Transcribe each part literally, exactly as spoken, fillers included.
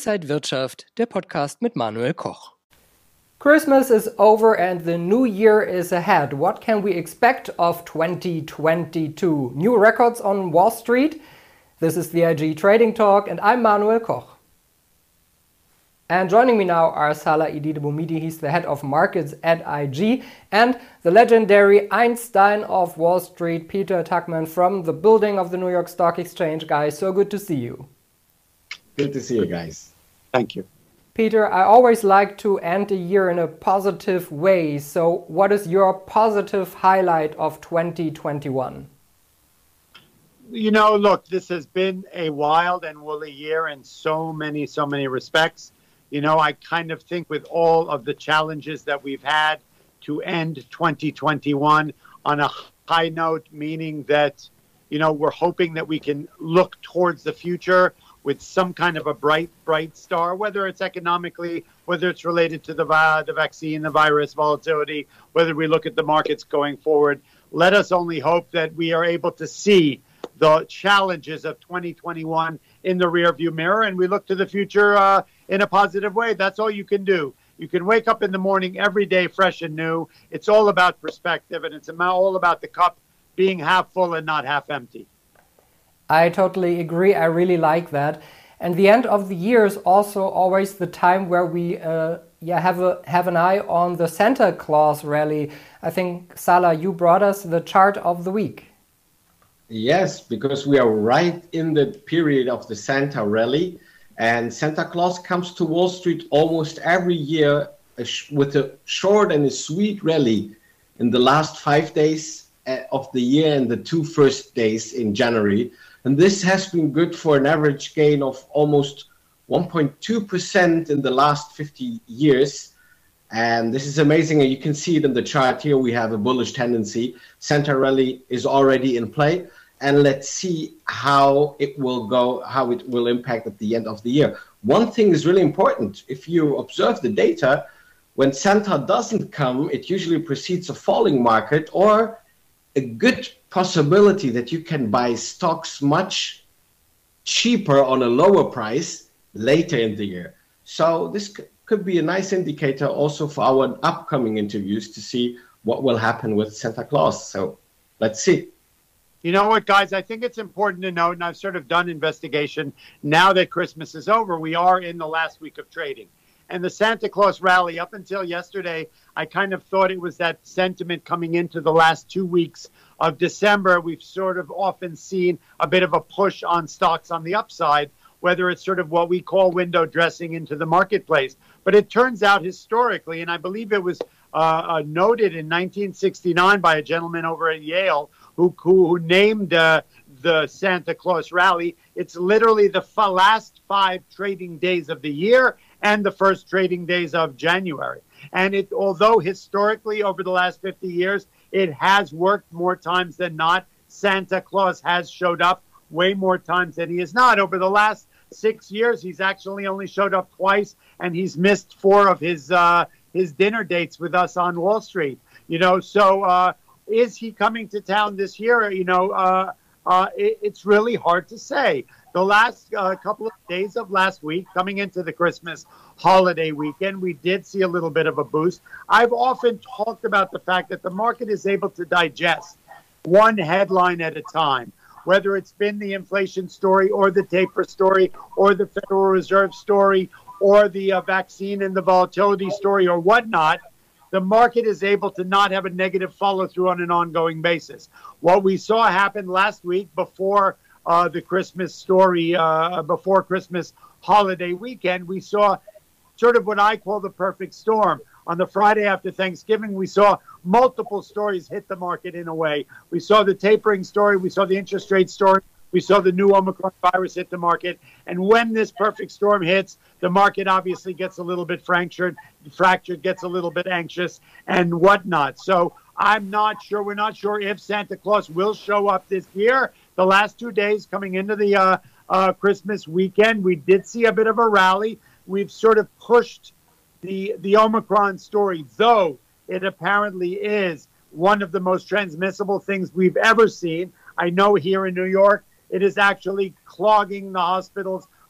Inside Wirtschaft, der Podcast mit Manuel Koch. Christmas is over and the new year is ahead. What can we expect of twenty twenty-two? New records on Wall Street? This is the I G Trading Talk and I'm Manuel Koch. And joining me now are Salah Eddine-Bouhmidi, he's the head of markets at I G, and the legendary Einstein of Wall Street, Peter Tuchman from the building of the New York Stock Exchange. Guys, so good to see you. Good to see you guys. Thank you. Peter, I always like to end a year in a positive way. So what is your positive highlight of twenty twenty-one? You know, look, this has been a wild and woolly year in so many, so many respects. You know, I kind of think with all of the challenges that we've had to end twenty twenty-one on a high note, meaning that, you know, we're hoping that we can look towards the future with some kind of a bright, bright star, whether it's economically, whether it's related to the, uh, the vaccine, the virus volatility, whether we look at the markets going forward. Let us only hope that we are able to see the challenges of twenty twenty-one in the rearview mirror, and we look to the future uh, in a positive way. That's all you can do. You can wake up in the morning every day fresh and new. It's all about perspective, and it's all about the cup being half full and not half empty. I totally agree. I really like that. And the end of the year is also always the time where we uh, yeah, have, a, have an eye on the Santa Claus rally. I think, Salah, you brought us the chart of the week. Yes, because we are right in the period of the Santa rally. And Santa Claus comes to Wall Street almost every year with a short and a sweet rally in the last five days of the year and the two first days in January. And this has been good for an average gain of almost one point two percent in the last fifty years. And this is amazing. And you can see it in the chart here. We have a bullish tendency. Santa rally is already in play. And let's see how it will go, how it will impact at the end of the year. One thing is really important. If you observe the data, when Santa doesn't come, it usually precedes a falling market or a good possibility that you can buy stocks much cheaper on a lower price later in the year. So this could be a nice indicator also for our upcoming interviews to see what will happen with Santa Claus. So let's see. You know what, guys, I think it's important to note, and I've sort of done investigation, now that Christmas is over, we are in the last week of trading. And the Santa Claus rally, up until yesterday, I kind of thought it was that sentiment coming into the last two weeks of December. We've sort of often seen a bit of a push on stocks on the upside, whether it's sort of what we call window dressing into the marketplace. But it turns out historically, and I believe it was uh, uh, noted in nineteen sixty-nine by a gentleman over at Yale who, who, who named uh, the Santa Claus rally, it's literally the f- last five trading days of the year and the first trading days of January. And it, although historically over the last fifty years, it has worked more times than not, Santa Claus has showed up way more times than he has not. Over the last six years, he's actually only showed up twice, and he's missed four of his uh, his dinner dates with us on Wall Street. You know, so uh, is he coming to town this year? You know, uh, uh, it, it's really hard to say. The last uh, couple of days of last week, coming into the Christmas holiday weekend, we did see a little bit of a boost. I've often talked about the fact that the market is able to digest one headline at a time, whether it's been the inflation story or the taper story or the Federal Reserve story or the uh, vaccine and the volatility story or whatnot. The market is able to not have a negative follow through on an ongoing basis. What we saw happen last week before Uh, the Christmas story, uh, before Christmas holiday weekend, we saw sort of what I call the perfect storm. On the Friday after Thanksgiving, we saw multiple stories hit the market in a way. We saw the tapering story. We saw the interest rate story. We saw the new Omicron virus hit the market. And when this perfect storm hits, the market obviously gets a little bit fractured, fractured, gets a little bit anxious and whatnot. So I'm not sure. We're not sure if Santa Claus will show up this year. The last two days coming into the uh, uh, Christmas weekend, we did see a bit of a rally. We've sort of pushed the the Omicron story, though it apparently is one of the most transmissible things we've ever seen. I know here in New York, it is actually clogging the hospitals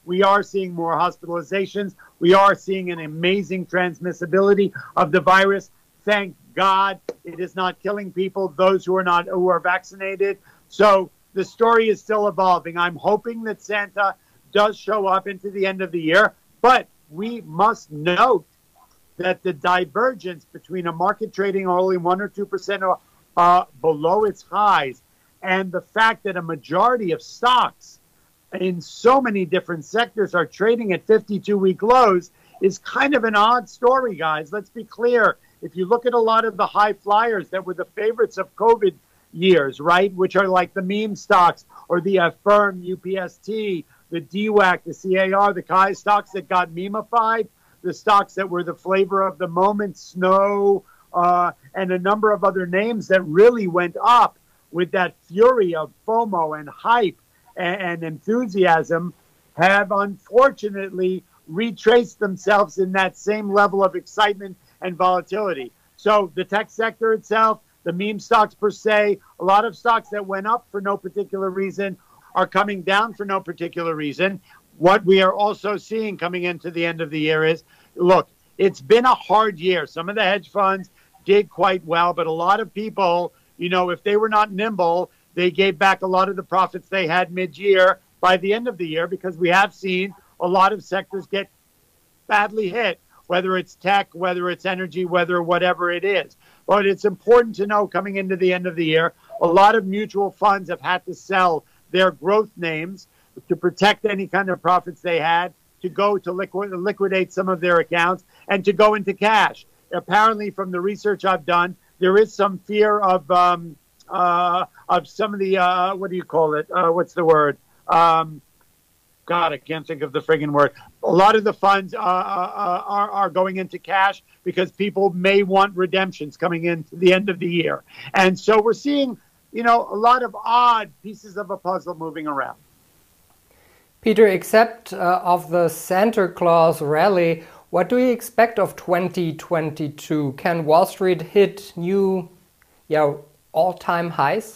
We are seeing more hospitalizations. We are seeing an amazing transmissibility of the virus. Thank God it is not killing people, those who are not who are vaccinated. So the story is still evolving. I'm hoping that Santa does show up into the end of the year, but we must note that the divergence between a market trading only one or two percent uh, below its highs, and the fact that a majority of stocks in so many different sectors are trading at fifty-two week lows is kind of an odd story, guys. Let's be clear. If you look at a lot of the high flyers that were the favorites of COVID years, right, which are like the meme stocks or the Affirm, U P S T, the D WAC, the C A R, the K I stocks that got memeified, the stocks that were the flavor of the moment, Snow, uh, and a number of other names that really went up with that fury of FOMO and hype and, and enthusiasm, have unfortunately retraced themselves in that same level of excitement and volatility. So the tech sector itself, the meme stocks per se, a lot of stocks that went up for no particular reason are coming down for no particular reason. What we are also seeing coming into the end of the year is, look, it's been a hard year. Some of the hedge funds did quite well, but a lot of people, you know, if they were not nimble, they gave back a lot of the profits they had mid-year by the end of the year, because we have seen a lot of sectors get badly hit, whether it's tech, whether it's energy, whether whatever it is. But it's important to know coming into the end of the year, a lot of mutual funds have had to sell their growth names to protect any kind of profits they had, to go to liquid, liquidate some of their accounts, and to go into cash. Apparently, from the research I've done, there is some fear of um, uh, of some of the, uh, what do you call it? Uh, what's the word? Um, God, I can't think of the friggin' word. A lot of the funds uh, uh, are, are going into cash because people may want redemptions coming into the end of the year. And so we're seeing, you know, a lot of odd pieces of a puzzle moving around. Peter, except uh, of the Santa Claus rally, what do you expect of twenty twenty-two? Can Wall Street hit new, yeah, all-time highs?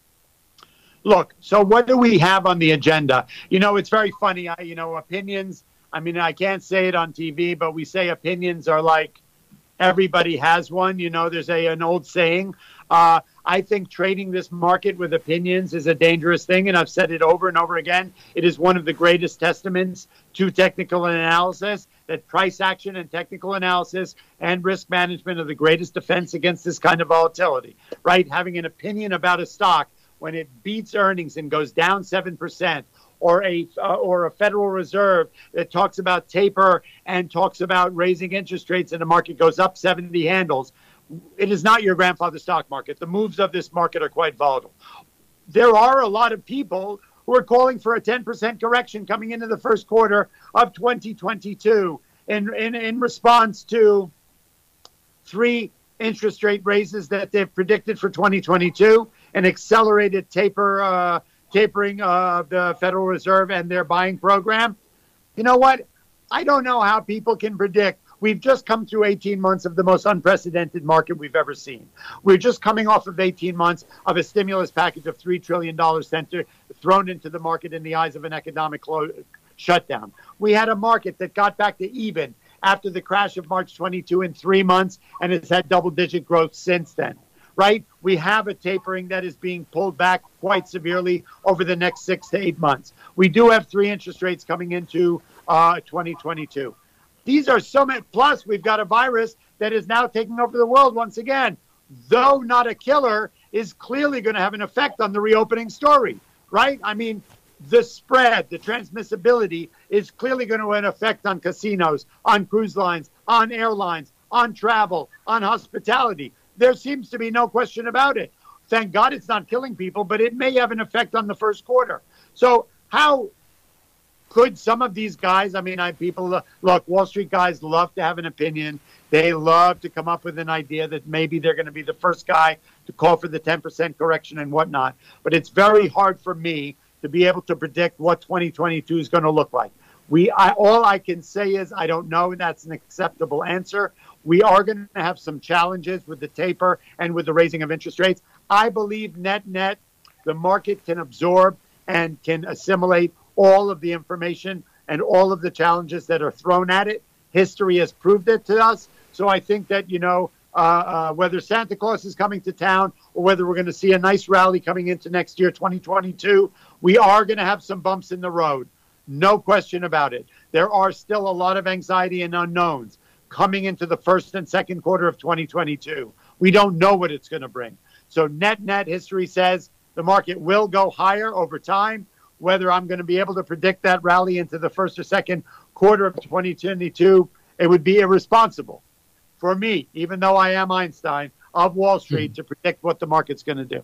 Look, so what do we have on the agenda? You know, it's very funny. I, you know, opinions, I mean, I can't say it on T V, but we say opinions are like everybody has one. You know, there's a an old saying. Uh, I think trading this market with opinions is a dangerous thing, and I've said it over and over again. It is one of the greatest testaments to technical analysis, that price action and technical analysis and risk management are the greatest defense against this kind of volatility, right? Having an opinion about a stock when it beats earnings and goes down seven percent, or a uh, or a Federal Reserve that talks about taper and talks about raising interest rates and the market goes up seventy handles. It is not your grandfather's stock market. The moves of this market are quite volatile. There are a lot of people who are calling for a ten percent correction coming into the first quarter of twenty twenty-two in, in, in response to three interest rate raises that they've predicted for twenty twenty-two, an accelerated taper, uh, tapering of the Federal Reserve and their buying program. You know what? I don't know how people can predict. We've just come through eighteen months of the most unprecedented market we've ever seen. We're just coming off of eighteen months of a stimulus package of three trillion dollars center thrown into the market in the eyes of an economic clo- shutdown. We had a market that got back to even after the crash of March twenty-two in three months, and it's had double-digit growth since then, right? We have a tapering that is being pulled back quite severely over the next six to eight months. We do have three interest rates coming into uh, twenty twenty-two. These are so many, plus we've got a virus that is now taking over the world once again. Though not a killer, is clearly going to have an effect on the reopening story, right? I mean, the spread, the transmissibility is clearly going to have an effect on casinos, on cruise lines, on airlines, on travel, on hospitality. There seems to be no question about it. Thank God it's not killing people, but it may have an effect on the first quarter. So how could some of these guys, I mean, I people, look, Wall Street guys love to have an opinion. They love to come up with an idea that maybe they're going to be the first guy to call for the ten percent correction and whatnot. But it's very hard for me to be able to predict what twenty twenty-two is going to look like. We, I, all I can say is I don't know. That's an acceptable answer. We are going to have some challenges with the taper and with the raising of interest rates. I believe net net, the market can absorb and can assimilate all of the information and all of the challenges that are thrown at it. History has proved it to us. So I think that, you know, uh, uh, whether Santa Claus is coming to town or whether we're going to see a nice rally coming into next year, twenty twenty-two, we are going to have some bumps in the road. No question about it. There are still a lot of anxiety and unknowns coming into the first and second quarter of twenty twenty-two. We don't know what it's going to bring. So net, net history says the market will go higher over time. Whether I'm going to be able to predict that rally into the first or second quarter of twenty twenty-two, it would be irresponsible for me, even though I am Einstein of Wall Street, to predict what the market's going to do.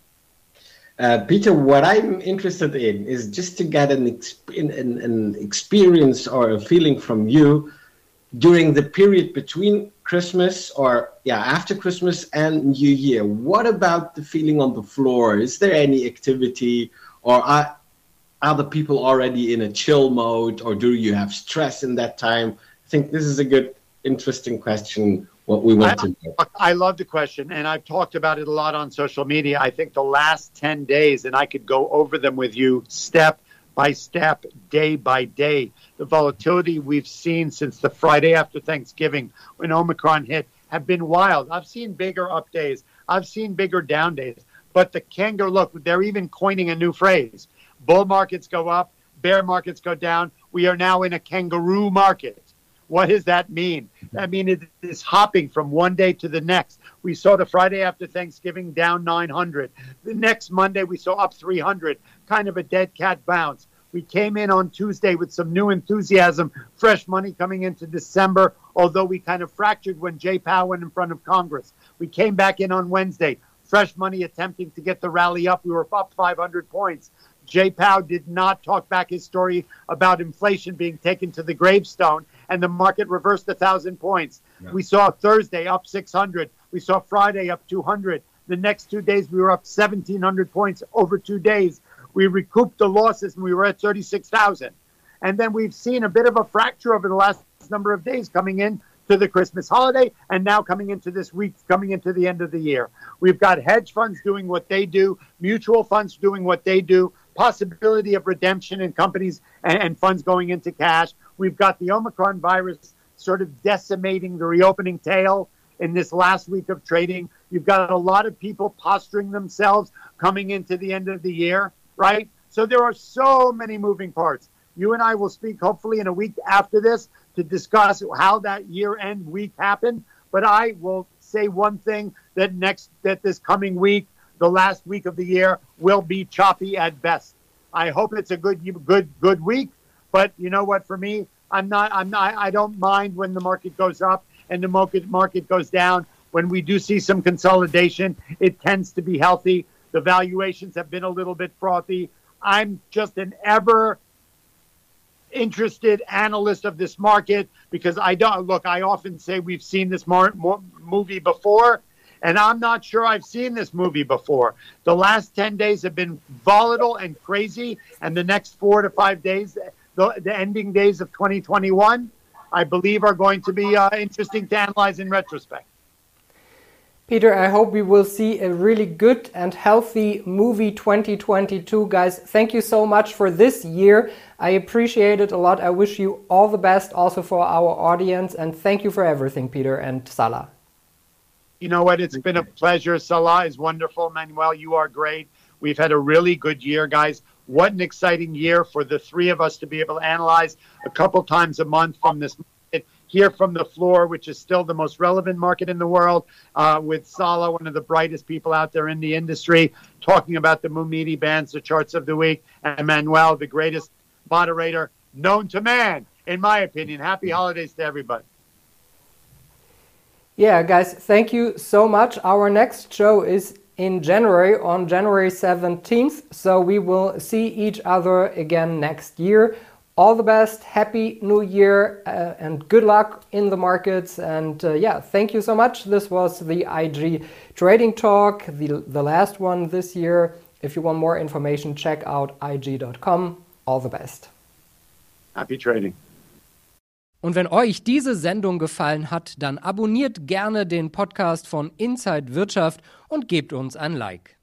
Uh, Peter, what I'm interested in is just to get an, exp- an, an experience or a feeling from you during the period between Christmas or yeah after Christmas and New Year. What about the feeling on the floor? Is there any activity, or are, are the people already in a chill mode, or do you have stress in that time? I think this is a good, interesting question, what we want I, to know. I love the question, and I've talked about it a lot on social media. I think the last ten days, and I could go over them with you step by step, day by day, the volatility we've seen since the Friday after Thanksgiving when Omicron hit have been wild. I've seen bigger up days. I've seen bigger down days. But the kangaroo, look, they're even coining a new phrase. Bull markets go up, bear markets go down. We are now in a kangaroo market. What does that mean? I mean, it is hopping from one day to the next. We saw the Friday after Thanksgiving down nine hundred. The next Monday, we saw up three hundred, kind of a dead cat bounce. We came in on Tuesday with some new enthusiasm, fresh money coming into December, although we kind of fractured when Jay Powell went in front of Congress. We came back in on Wednesday, fresh money attempting to get the rally up. We were up five hundred points. Jay Powell did not talk back his story about inflation being taken to the gravestone, and the market reversed one thousand points. Yeah. We saw Thursday up six hundred. We saw Friday up two hundred. The next two days, we were up seventeen hundred points over two days. We recouped the losses, and we were at thirty-six thousand. And then we've seen a bit of a fracture over the last number of days coming in to the Christmas holiday, and now coming into this week, coming into the end of the year. We've got hedge funds doing what they do, mutual funds doing what they do, possibility of redemption in companies and, and funds going into cash. We've got the Omicron virus sort of decimating the reopening tail in this last week of trading. You've got a lot of people posturing themselves coming into the end of the year, right? So there are so many moving parts. You and I will speak hopefully in a week after this to discuss how that year-end week happened. But I will say one thing, that next, that this coming week, the last week of the year, will be choppy at best. I hope it's a good, good, good week. But you know what? For me, I'm not. I'm not. I don't mind when the market goes up and the market market goes down. When we do see some consolidation, it tends to be healthy. The valuations have been a little bit frothy. I'm just an ever interested analyst of this market because I don't look. I often say we've seen this mar- mar- movie before. And I'm not sure I've seen this movie before. The last ten days have been volatile and crazy. And the next four to five days, the, the ending days of twenty twenty-one, I believe are going to be uh, interesting to analyze in retrospect. Peter, I hope we will see a really good and healthy movie twenty twenty-two. Guys, thank you so much for this year. I appreciate it a lot. I wish you all the best also for our audience. And thank you for everything, Peter and Salah. You know what? It's been a pleasure. Salah is wonderful. Manuel, you are great. We've had a really good year, guys. What an exciting year for the three of us to be able to analyze a couple times a month from this market, here from the floor, which is still the most relevant market in the world, uh, with Salah, one of the brightest people out there in the industry, talking about the Mumidi bands, the charts of the week, and Manuel, the greatest moderator known to man, in my opinion. Happy holidays to everybody. Yeah, guys, thank you so much. Our next show is in January, on January seventeenth. So we will see each other again next year. All the best, happy new year, uh, and good luck in the markets. And uh, yeah, thank you so much. This was the I G Trading Talk, the, the last one this year. If you want more information, check out I G dot com. All the best. Happy trading. Und wenn euch diese Sendung gefallen hat, dann abonniert gerne den Podcast von Inside Wirtschaft und gebt uns ein Like.